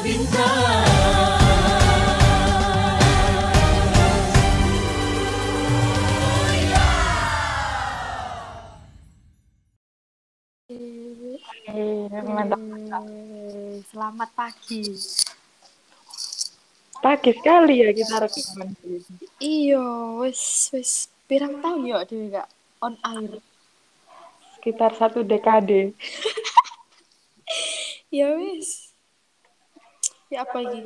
Mantap. Selamat pagi. Pagi sekali ya kita rekaman ini. Iya, wis pirang tahun ya dhewe gak on air. Sekitar 1 dekade. Ya wis. Ya apa iki?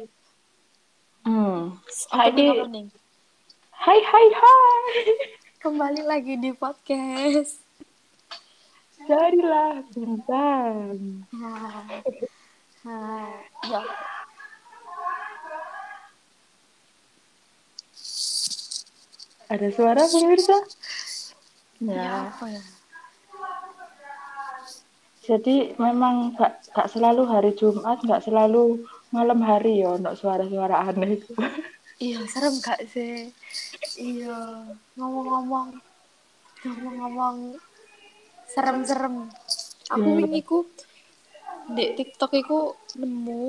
Saiki Opening. hai hai hai. Kembali lagi di podcast. Carilah bintang. Nah, ya. Ada suara pemirsa? Ya Ya. apa ya? Jadi memang gak selalu hari Jumat, gak selalu malam hari ya, untuk suara-suara aneh itu. Iya, serem gak sih? Iya, ngomong-ngomong, ngomong-ngomong serem-serem. Aku Ya, wingi ku di TikTok iku nemu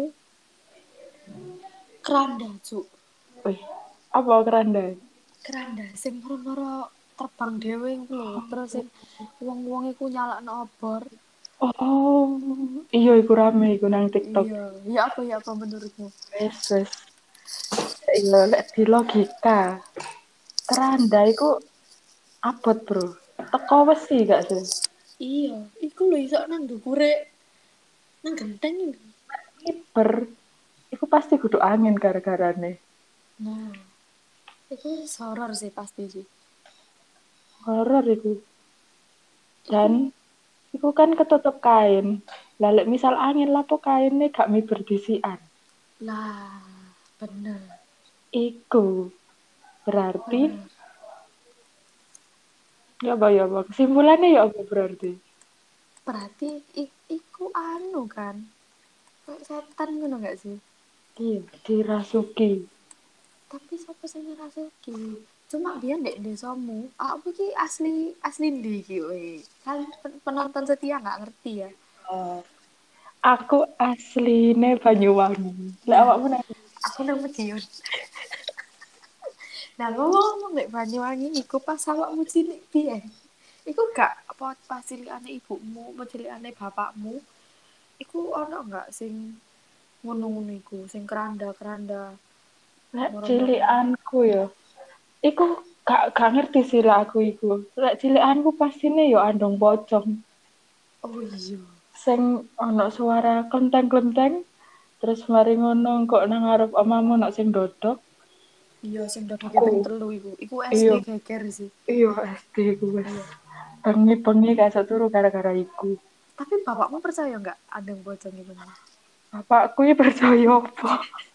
keranda, Cuk. wih, apa keranda? Keranda sing moro-moro terbang dhewe iku lho. Terus sing wong-wong iku nyalakno obor. Oh, iya iku rame iku nang TikTok. Iya, ya apa menurutmu? Wes. Iya, lek di logika, keranda iku abot, Bro. Teko wesi gak sih? Iya, iku lho iso nang ndukure nang genteng iku. Kiper. Iku pasti kudu angin gara-garane. Nah, iku horor sih pasti sih. Horor iku. Iku Dan iku kan ketutup kain. Lah lek misal angin lapo kainnya gak miber disikan. lah bener. Iku berarti Bener. ya apa? Kesimpulannya ya apa berarti? Berarti iku anu kan. Kayak setan ngono gak sih? Iya, dirasuki. Tapi siapa sing ngerasuki? Cuma biar ndek desamu, aku iki asli asli ndi iki we. Kan penonton setia nggak ngerti ya. Oh, aku asline Banyuwangi. Lek Nah, awakmu nang aku nang Madiun. Nah, ngomong ndek Banyuwangi iku pas awakmu cilik piye? Iku gak apa pas cilikane ibumu, apa cilikane bapakmu, iku ono nggak sing ngono-ngono iku, sing keranda-keranda lek moro-moro. cilikanku ya. Iku gak ngerti sih lah aku iku. Lek cilikanku pastine yo andong pocong. Oh iya. Sing ono suara klenteng-klenteng. Terus mari ngono kok nang ngarep omamu ono sing dodok. Iya, sing dodoke Aku ping 3 iku. Iku SD iya geger sih. iya SD ku wis. Iya. Bengi-bengi gak iso turu gara-gara iku. Tapi bapakmu percaya nggak ada yang pocong itu? Bapakku iki percaya apa?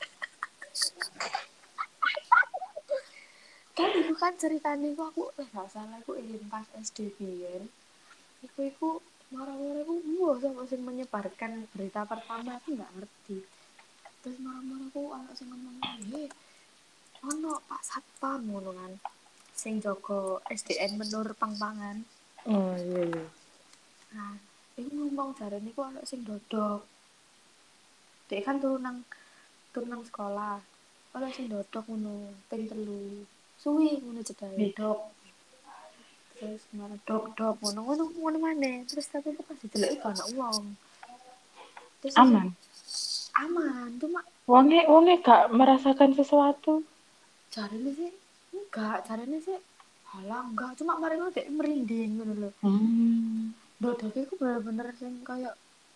Kan iku kan ceritanya iku aku nggak salah aku ingin pas SD biyen. Iku marah-marah iku wah sama sing menyebarkan berita pertama aku nggak ngerti. Terus marah-marah aku anak sing ngomong, "Heh, ono Pak Satpam ngono kan." Sing jaga SDN Menur Pangpangan. Oh iya. Nah, iku ngomong jarane iku ono sing dodok. Dek kan turun nang sekolah. Ono sing dodok ngono, ping 3. Suwi ngono cedae, Ih, dok. Terus ngono dok ngono maneh. Terus tapi pas dideloki gak ono wong. Terus sesuk aman. aman, cuma Wonge gak merasakan sesuatu. jarine sih jarine sih halah enggak, cuma mari ngono dek merinding ngono lho. Hmm. Dodoke iku bener-bener sing kayak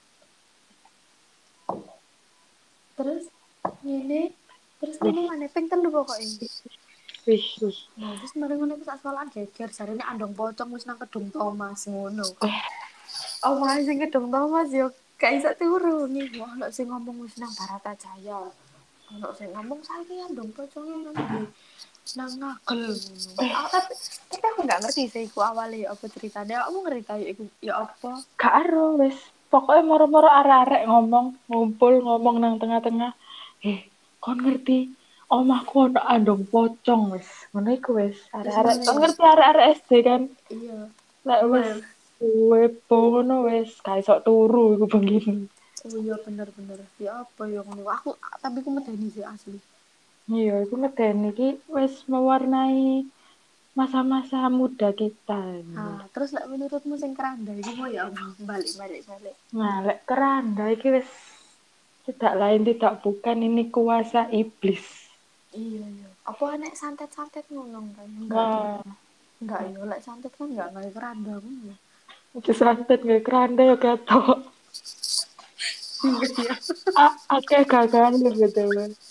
terus ngene terus Wih, ngono maneh ping 3 pokoke. wih. Nah, terus mari ngono iku sak sekolahan geger jarine andong pocong wis nang Kedung Thomas ngono. Wih, Oh, malah sing Kedung Thomas yo gak iso turu nih. Wah, ono sing ngomong wis nang Baratajaya. Ono sing ngomong saiki andong poconge nang ndi? Nang Ngagel ngono. Ah, tapi aku gak ngerti sih iku awale apa ceritanya. Aku ngerti kayak iku ya apa. gak ero wis. Pokoknya moro-moro arek-arek ngomong, ngumpul ngomong nang tengah-tengah. Kon ngerti omahku ono andong pocong wis. Ngono iku wis. Terus Arek-arek ngene. kon ngerti arek-arek SD kan. Iya. Lek wis Wes. wepo ngono wis gak iso turu iku begini. Oh iya bener-bener. Ya apa ya ngono. Aku tapi aku medeni sih asli. Iya, itu medeni iki wis mewarnai masa-masa muda kita ini. Ah, terus lek menurutmu sing keranda iku mau ya apa? Balik. Nah, lek keranda iki wis tidak lain tidak bukan ini kuasa iblis. Iya iya. Apa nek santet-santet ngono kan? Enggak deh. Wah, Enggak ya, lek santet kan enggak kayak keranda pun ya. itu santet nggak keranda ya ketok. Iya iya. Akeh gagal gitu.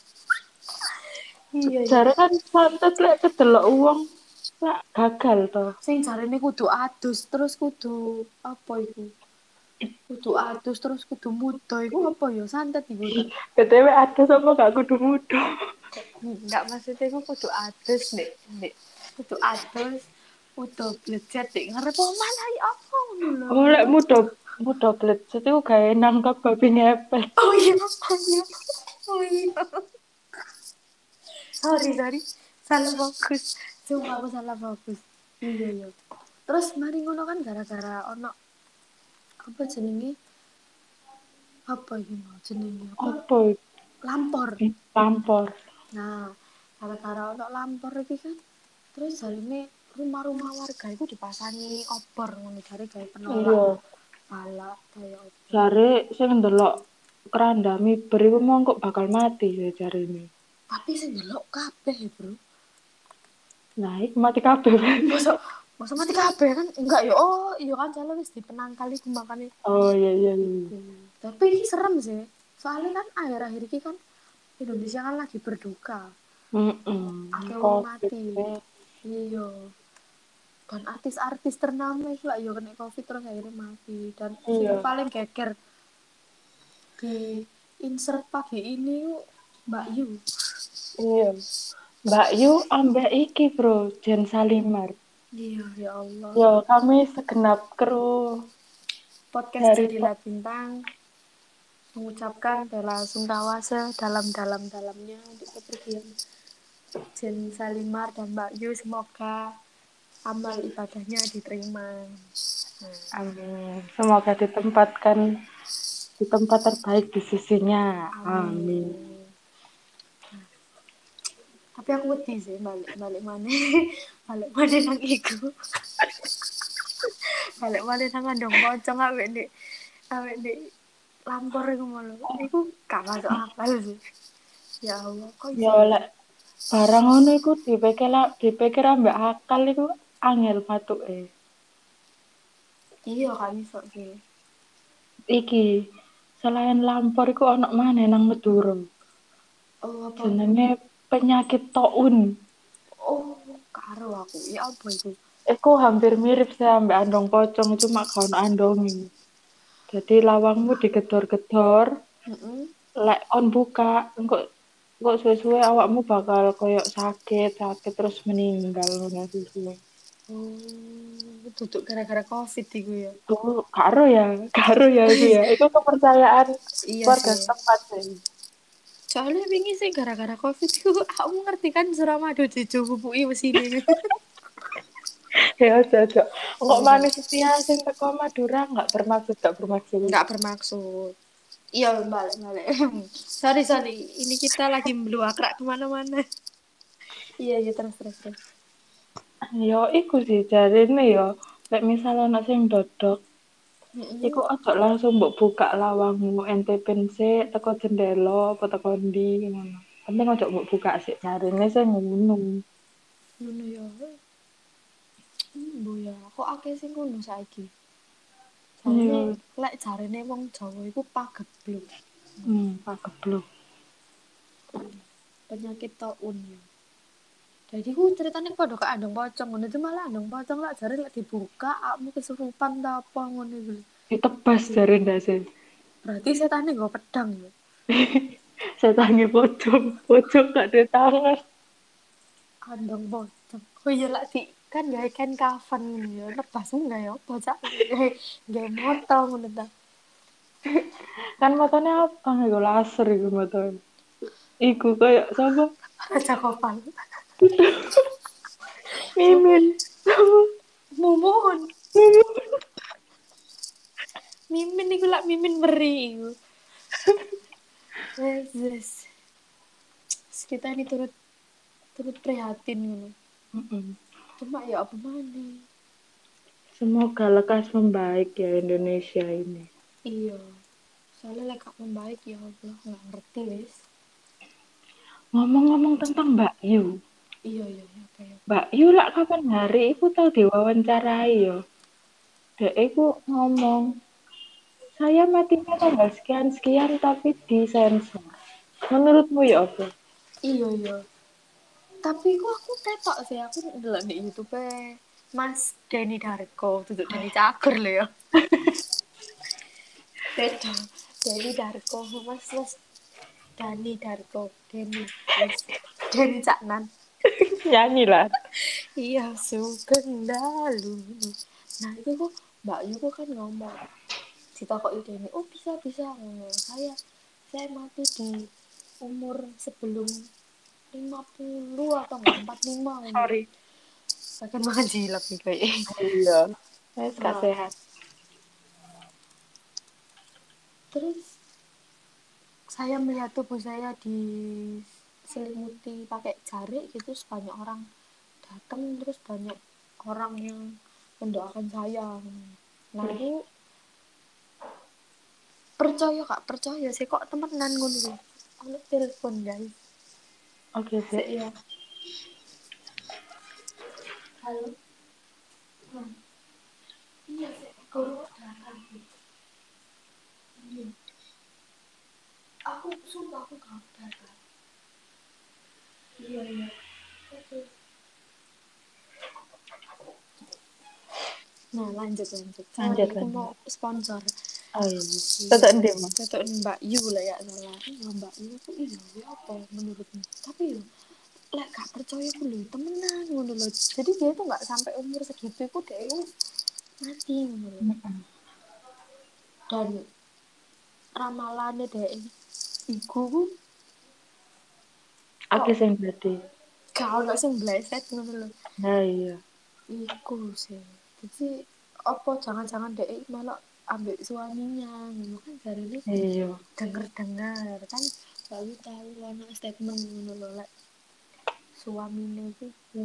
Iya iya. Jare kan santet lek kedelok uang lek gagal to. Sing jarene kudu adus, terus kudu apa iku? Kudu adus terus kudu muda iku apa ya santet iku tak. BTW ada sama gak kudu muda. Enggak maksudnya iku kudu adus nek kudu adus kudu blejet nek ngarep mana ya apa ngono lho. Oh, lek muda muda blecet iku gawe nangkap babi ngepet. Oh iya, oh iya. Oh iya. Sorry. Salah fokus. Sumpah aku salah fokus. Iya iya. Terus mari ngono kan gara-gara ono apa jenenge? Apa iki mau jenenge apa? Apa Lampor. iki? Tampor. Nah, gara-gara ono lampor iki kan terus jarine rumah-rumah warga itu dipasangi obor ngono jare gawe penolak Iya, bala kaya apa. jare sing ndelok keranda miber iku mong kok bakal mati ya jarine. Tapi sing delok kabeh, Bro. Nah, iku mati kabeh. Masa masa mati kabeh kan enggak ya. Oh, iya kan jale wis dipenangkal iku makane Oh iya iya iya. iku. Tapi ini serem sih. Soalnya kan akhir-akhir ini kan Indonesia kan lagi berduka. Akeh wong Covid. mati. Iya. Dan artis-artis ternama itu lah ya kena covid terus akhirnya mati. Dan sing Iya. paling geger di insert pagi ini yuk Mbak Yu. Iya. Mbak Yu ambek iki, Bro, Jen Salimar. Iya ya Allah. Yo, kami segenap kru Podcast dari Jadilah Bintang mengucapkan bela sungkawa sedalam-dalamnya untuk kepergian Jen Salimar dan Mbak Yu. Semoga amal ibadahnya diterima. Amin. Semoga ditempatkan di tempat terbaik di sisinya. Amin. Amin. Tapi aku wedi sih balik mana balik mana nang iku balik mana nang andong pocong awek di lampor iku malu iku gak masuk akal sih. Ya Allah kok Ya iso ya. oleh barang ngono iku dipikir ambek akal iku angel matuke. Iya kan iso sih. Iki selain lampor iku ana maneh nang Madura. Oh apa. Jenenge penyakit taun. Oh karo aku ya apa itu. Iku hampir mirip sih ambek andong pocong cuma gak ono andonge. Jadi lawangmu digedor-gedor, Heeh. lek on buka, engko suwe-suwe awakmu bakal koyok sakit terus meninggal ngono suwe. Oh tutup gara-gara covid iku ya. Tuh, karo ya itu ya. Itu kepercayaan Iya warga sih. setempat sih. Soalnya wingi sih gara-gara covid itu aku ngerti kan Suramadu dicubuki mesine. Ya aja. Engkok Iya. manis setia sing teko Madura gak bermaksud. Nggak bermaksud. Iya balik. Sorry. Ini kita lagi meluakrak kemana-mana. Iya terus. Yo iku sih jarine yo. Lek misal ana sing dodok, iku Mm-mm. ojo langsung mbok buka lawangmu ente sik teko jendela apa teko ndi ngono. Penting ojo mbok buka sik jarine sing ngono. Ngono ya. Bu ya, kok akeh sing ngono saiki. Jarine Iya, lek jarine wong Jawa iku pagebluk. pagebluk. Penyakit taun ya. Jadi ku ceritanya pada ke andong pocong ngono itu malah andong pocong lah jare lek dibuka akmu kesurupan ta apa ngono iku. Ditebas jare ndase. Berarti setane nggo pedang ya. Setange pocong gak ada tangan. Andong pocong. Oh iya lah di kan gawe kain kafan ngono ya. Lebasmu enggak ya bocah gawe moto ngono ta. Kan matanya apa iku laser iku matanya. Iku kayak sapa? Raja Kopal. Mimin. Sapa? Mumun. Mimin. Mimin iku lak mimin meri iku. Yes. Kita ini turut turut prihatin gitu. Mm-mm. Cuma ya apa mana? Semoga lekas membaik ya Indonesia ini. Iya. Soalnya lek gak membaik ya Allah nggak ngerti wes. Ngomong-ngomong tentang Mbak Yu. Iya apa ya. Mbak Yu lah kapan hari iku tau diwawancarai yo. Dek iku ngomong, saya matinya tanggal sekian-sekian tapi disensor. Menurutmu ya apa? Iya. Tapi kok aku ketok sih aku ndelok di YouTube Mas Denny Darko, tutup Denny Cagur loh ya. Beda. Denny Darko, Mas Dani Darko, Denny. Wis. Denny Caknan. Nyanyi lah. Iya, sugeng dalu. Nah, itu kok Mbak Yu kok kan ngomong ditakoki Denny, "Oh, bisa ngomong. Saya mati di umur sebelum 50 atau enggak 45 ngono." Sorry. Akan makan cilok nih kayak. Iya. Wes gak Nah, sehat. terus saya melihat tubuh saya diselimuti pakai jarik gitu, banyak orang datang, terus banyak orang yang mendoakan saya. Nah, Wih, aku percaya kak, percaya sih kok temenan ngono lho. Ono telepon guys. oke Sik sih. ya. Halo. Hmm. Iya sih, kalau datang. Iya. Aku sumpah aku gak datang. Iya. Oke. Nah, lanjut. Sorry, Lanjut aku mau lanjut. sponsor. Oh iya. Iya, Tetap ndek, Mas. tetep Mbak Yu lah ya salah. Iya Mbak Yu tuh iya ya apa menurutmu? Tapi yo lek gak percaya aku lho temenan ngono lho. Jadi dia tuh gak sampai umur segitu itu dia itu mati ngono lho. Mm-mm. Dan ramalannya dia iku Oke kok sing berarti. gak ono sing bleset ngono lho. Nah iya. Iku sih. Jadi apa jangan-jangan dia malah ambil suaminya ngono kan dari ini Iya. dengar kan lalu tahu ono statement ngono lho lek suaminya itu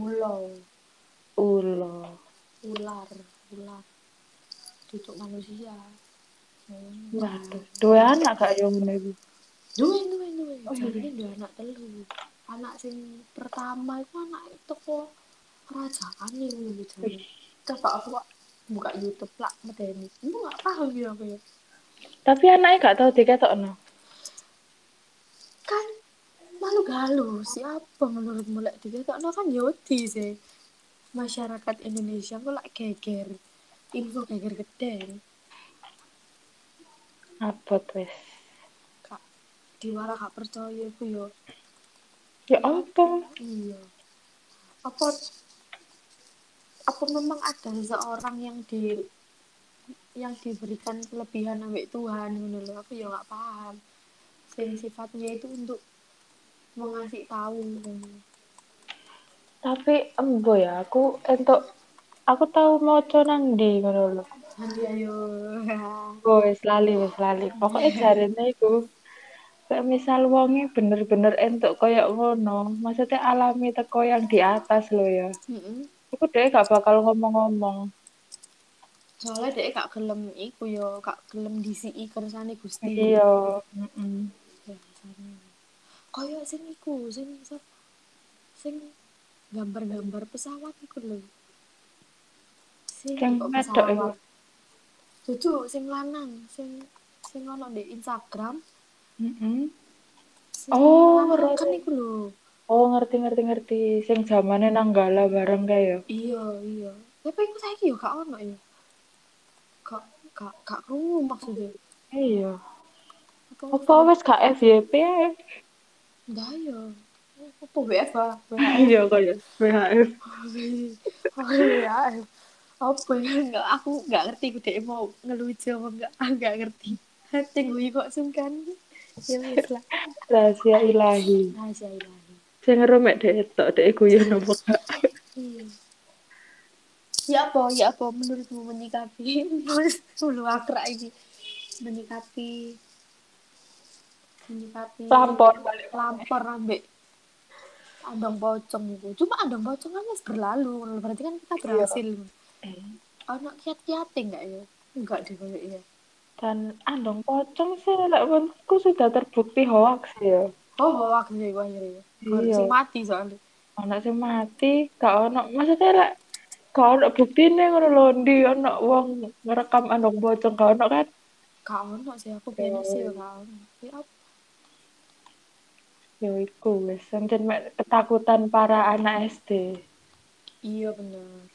Ulo. ular ular duduk manusia. Waduh. Dua anak gak yang ngene iku? Duwe Oh jarine iya. duwe anak telu. Anak sing pertama itu anak itu kok kerajaan nih ngono jare. Wih. Coba aku kok buka YouTube lah medeni. Aku gak paham ya apa ya. Tapi anaknya gak tahu diketokno. Kan malu galu siapa menurutmu lek diketokno kan ya wedi sih. Masyarakat Indonesia kok lek geger. Info geger gede. Abot wes. Kak diwara gak percaya aku yo. Ya Ya apa? ampun. Iya. Apa apa memang ada seseorang yang diberikan kelebihan ambek Tuhan ngono lho. Aku ya gak paham. Sing sifatnya itu untuk mengasih tahu ngono. Tapi embo ya, aku tahu maca nang ndi ngono lho. Nanti ayo. Oh, wis lali. Pokoknya jarene iku, kayak misal wonge bener-bener entuk koyo ngono, maksudnya alami teko yang di atas lho ya. Heeh. Iku dhewe gak bakal ngomong-ngomong. Soalnya dia gak gelem iku yo, gak gelem disiki kersane Gusti ngono. Iya, mm Ya, kaya sing iku, sing gambar-gambar pesawat iku lho. Sing Sing kok wedok iku. pesawat. Dudu sing lanang, sing ono di Instagram, Mm-mm. sing Oh, lanang kan Roro. iku lho. Oh, ngerti. Sing zamane Nanggala bareng kae ya. Iya. Tapi iku saiki yo gak ono ya. Gak krungu maksudnya. Iya. Apa Apa maksudnya? wis gak FYP ae? Enggak ya. Apa WFA, WHF. Iya kaya WHF. Oh ya. Apa ya? Enggak, aku enggak ngerti ku dek mau ngelucu apa enggak. Aku enggak ngerti. Tunggu kok sungkan. Ya wis lah. Rahasia ilahi. Rahasia ilahi. Sing ngeru mek dhek tok, dhek guyon apa gak? Iya. Ya apa menurutmu menyikapi mulu akrab ini menyikapi menyikapi Lampor balik mana? lampor ambek andong pocong itu. Cuma andong pocong kan wis berlalu, berarti kan kita Iya. berhasil. Eh, Anak kiat-kiate enggak ya? Enggak deh kayak ya. dan andong pocong sih, lek menurutku sudah terbukti hoax ya. Oh, hoax sih gua akhirnya. Gak Iya, sing mati soalnya. anak sing mati, gak ono. Maksudnya lek gak ono buktine ngono lho, ndi ono wong ngerekam andong pocong gak ono kan? Gak ono sih aku biyen sih Yo, ya gak ono. Ya, yo iku wis sencen mek ketakutan para anak SD. iya bener.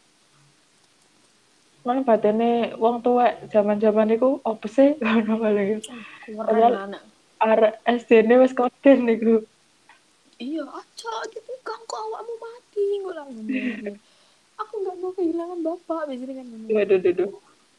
Mana batene wong tuwek zaman-zaman iku opo sih ngono paling. Keren Padahal anak. arek SD-ne wis koden niku. Iya, aja dipegang kok awakmu mati. Gue lah ngomong. Aku nggak mau kehilangan bapak. Biasanya kan ngomong. Waduh, duh, duh.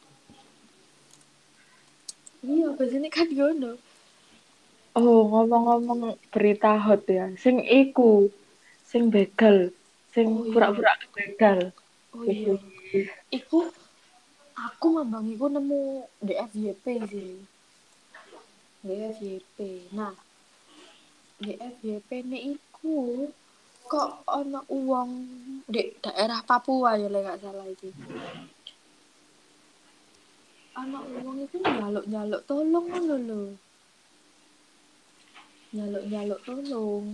Iya, biasanya kan ngono. Oh, ngomong-ngomong berita hot ya. Sing iku, sing begal, sing Oh iya, pura-pura begal. oh iya. Wih, Iku aku mambang iku nemu di FYP sih. Di FYP. Nah, di FYP ini iku kok ana uang di daerah Papua ya lek gak salah iki. Ana uang iku njaluk-njaluk tolong ngono lho. Njaluk-njaluk tolong.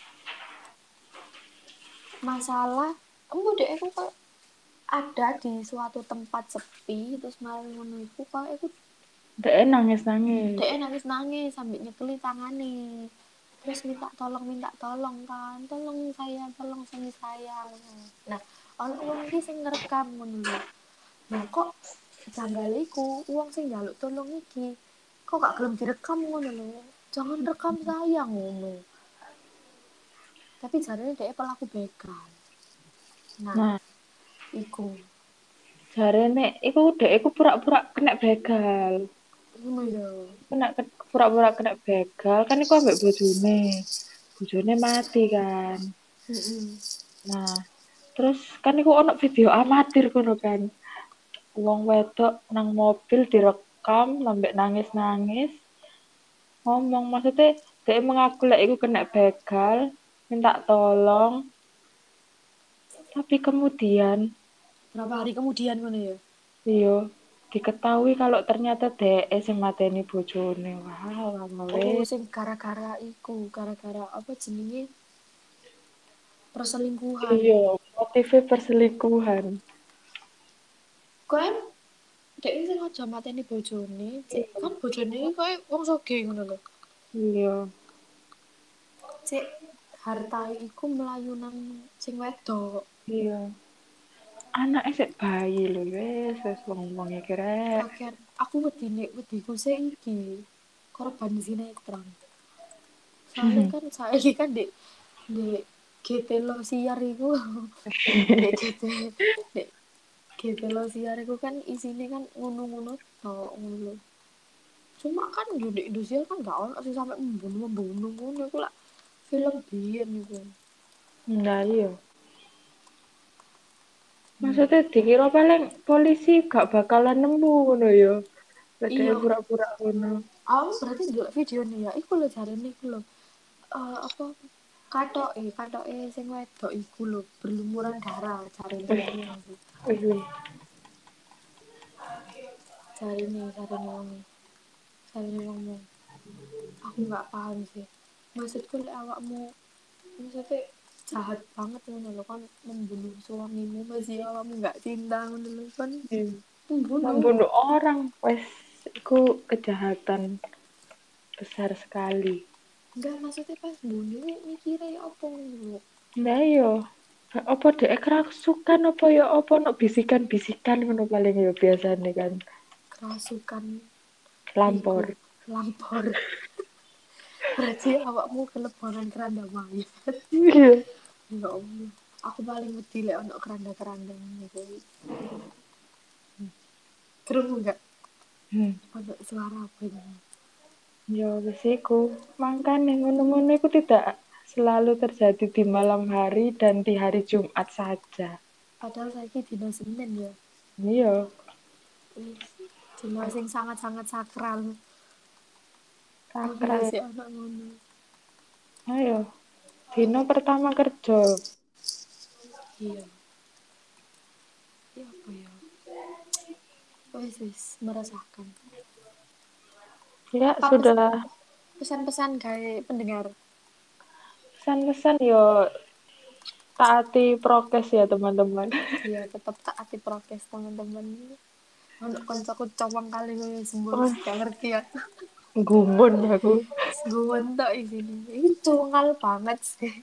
Masalah embo dek aku kok ada di suatu tempat sepi terus malam ngono iku kok aku dek nangis-nangis. dek nangis nangis sambil nyekeli tangane terus minta tolong kan tolong suami saya nah ono uang iki sing ngerekam ngono lho nah kok janggale iku uang sing njaluk tolong iki kok gak gelem direkam ngono lho jangan rekam saya ngono tapi jarane dek pelaku begal nah Nah, iku jarene iku dek iku pura-pura kena begal. ngono ya Kena pura-pura kena begal kan iku ambek bojone. Bojone mati kan. heeh Nah, terus kan iku ono video amatir kono kan. Wong wedok nang mobil direkam sampai nangis-nangis. Ngomong maksudnya dia mengaku lek iku kena begal, minta tolong, tapi kemudian berapa hari kemudian ngono ya yo diketahui kalau ternyata DE sing mateni bojone. Wah, oh wes. sing gara-gara iku gara-gara apa jenenge perselingkuhan Iya, motifnya perselingkuhan. kok em dek sing aja mateni bojone cek kan bojone iki koyo wong sugih ngono lho Iya, cek harta iku melayu nang sing wedok iya. Anaknya sik bayi lho, wes wong-wonge kira. kakean aku wediku sik iki korban sinetron soalnya kan saiki kan di GT Losiar iku di GT di GT Losiar iku kan isine kan ngono-ngono tok ngono cuma kan di Indonesia kan gak ono sih sampai membunuh ngono iku lah film biyen iku Nah, iya. hmm. Maksudnya dikira paling polisi gak bakalan nemu ngono ya. Ada Iya pura-pura ngono. aku berarti dulu video nih ya iku lho jarene iku lho apa katoke sing wedok iku lho berlumuran darah jarene wong Wih, wih. jarene wong aku nggak paham sih maksudku lek awakmu maksudnya jahat banget ngono lho kan membunuh suamimu masih awakmu nggak cinta ngono lho kan Iya. membunuh Membunuh orang, wes, itu kejahatan besar sekali. enggak maksudnya pas bunuh mikirnya ya apa ngono lho Nah yo, apa dek kerasukan apa ya apa no bisikan-bisikan ngono paling ya biasanya kan. kerasukan iku Lampor. lampor berarti awakmu kelebonan keranda mayat Iya. ya Allah aku paling wedi lek ono keranda-keranda gitu kerungu nggak Hmm. ono suara apa ini Ya wis iku. Makanya ngono-ngono itu tidak selalu terjadi di malam hari dan di hari Jumat saja. padahal saya dino Senin ya Iya. wis dino sing sangat-sangat sakral Aku Sakral. masih anak ngono. Ayo, dino pertama kerja. Iya. Iya apa ya? Wis merasakan. Ya Apa sudah. pesan-pesan kayak pendengar? Pesan-pesan yo taati prokes ya teman-teman. Iya, tetap taati prokes teman-teman. Ono koncoku cowong kali gue sembus Wah, gak ngerti ya. gumun aku. Gue mentok sini. Ini cowong banget sih.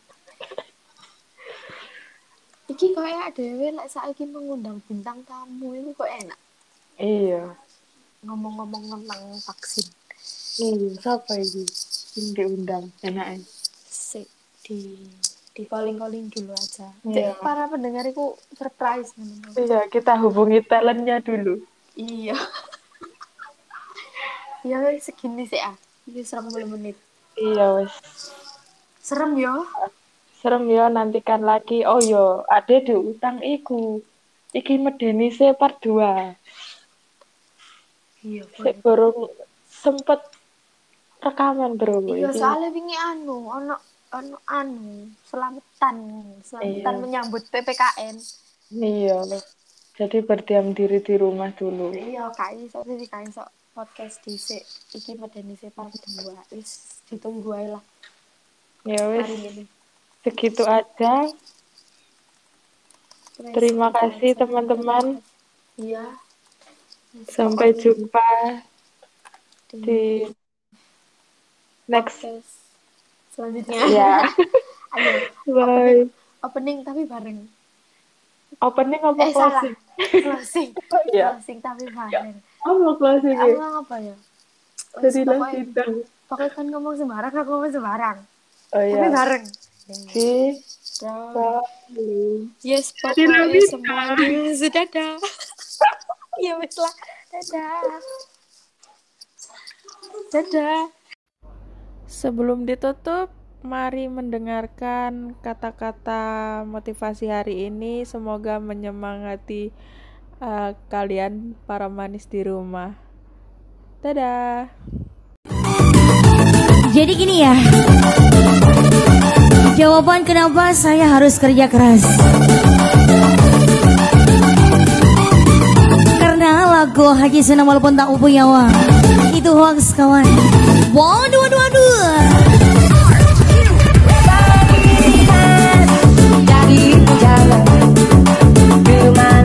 Iki kayak dhewe lek saiki mengundang bintang tamu itu kok enak. Iya. Ngomong-ngomong tentang vaksin. Iya, siapa ini? Yang diundang, enaknya. Sik di calling-calling dulu aja. Cek Iya. para pendengar itu surprise ngono. Iya, kita hubungi talentnya dulu. Iya. Ya wis segini sih ah. Ini 30 menit. Iya, wes. Serem ya? Serem ya, nantikan lagi. Oh yo, ada diutang iku. Iki medeni se part 2. Iya, Sik boleh. baru sempet rekaman bro Iya, iki. soalnya wingi ono selamatan, selamatan Iya. menyambut PPKN. Iya. Jadi berdiam diri di rumah dulu. Iya, kai iso podcast dhisik. Iki medeni se part 2. Wis ditunggu ae lah Ya wes, hari ini. segitu aja. Wis Terima gitu kasih aja. Terima teman-teman. kasih. Iya, wis Sampai pokoknya jumpa di di next. podcast selanjutnya. Ya, Ayo, opening bye. opening tapi bareng. Opening apa Salah. closing? Closing. Oh iya, Closing tapi ya. bareng. Apa closing Aku ya? apa ya? Wis Jadilah pokoknya bintang. pokoknya kan ngomong sembarang aku ngomong sembarang. Oh Tapi ya, bareng. si Dan Palu. yes, Jadilah pokoknya bintang. semuanya sudah dah. Ya wis lah. Dadah. Dadah. Sebelum ditutup, mari mendengarkan kata-kata motivasi hari ini. Semoga menyemangati kalian para manis di rumah. Dadah. Jadi gini ya, jawaban kenapa saya harus kerja keras. Karena lagu Haji Sunan walaupun tak punya uang itu hoax kawan. Waduh, waduh, waduh.